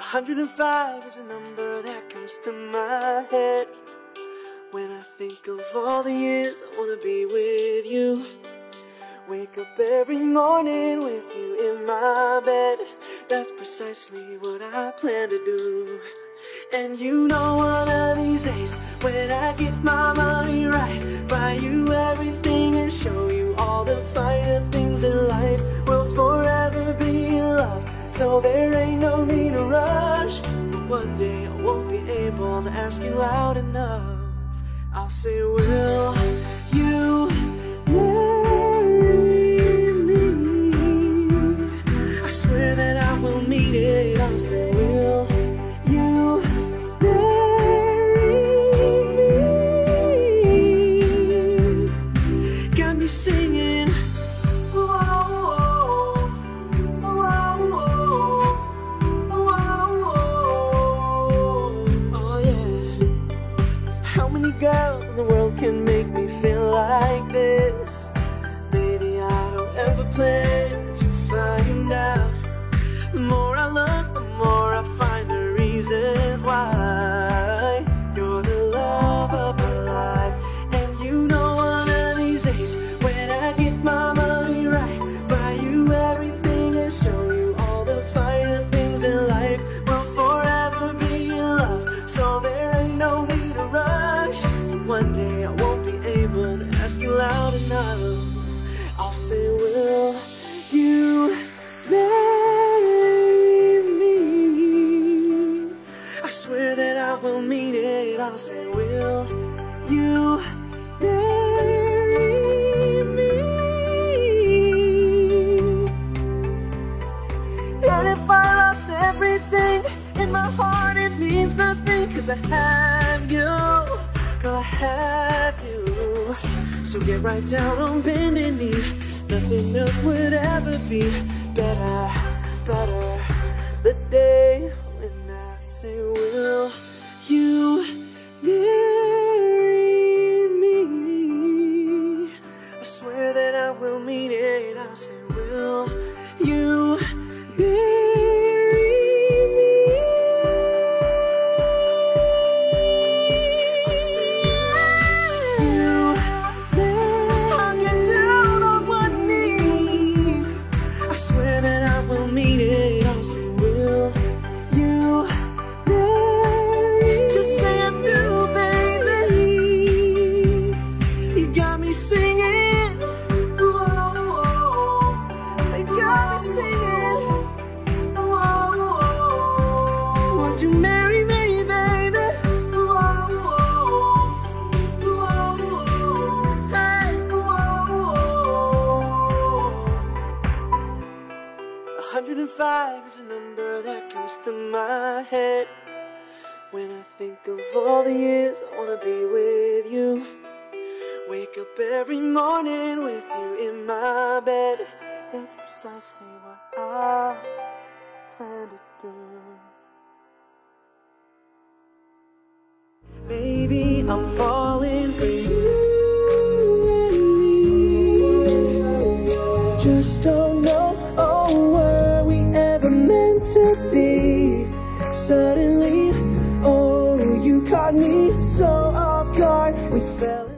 105 is a number that comes to my head when I think of all the years I wanna be with you. Wake up every morning with you in my bed. That's precisely what I plan to do. And you know one of these days, when I get my money right, buy you everything and show you all the finer things in life. We'll forever be in love, so there ain't no need to rush. But one day I won't be able to ask you loud enough. I'll say, will you marry me? I swear that I will mean it. I'll say, will you marry me? Got me singing, how many girls in the world can make me feel like this? Baby, I don't ever plan to find out. The more I look, the more I find the reasons why you're the love of my life. And you know one of these days, when I get my money right, buy you everything and show you all the finer things in life. We'll forever be in love, so there ain't no need to rush. One day I won't be able to ask you loud enough. I'll say, will you marry me? I swear that I will mean it. I'll say, will you marry me? And if I lost everything in my heart, it means nothing, 'cause I have you. Girl, I have you. So get right down on bending knee. Nothing else would ever be better, better. The day when I say, will you marry me? I swear that I will mean it. I'll say, will you marry me? I'll say, I'll get down on one knee. I swear that I will mean it. I'll say, will you marry? Just say I do, baby. You got me singing. Whoa, they got me singing. Whoa, would you marry me, baby? Whoa, hey, whoa. 105 is a number that comes to my head when I think of all the years I wanna be with you. Wake up every morning with you in my bed. It's precisely what I plan to do. Baby, I'm falling for you. Just don't know, oh, were we ever meant to be? Suddenly, oh, you caught me so off guard. We fell in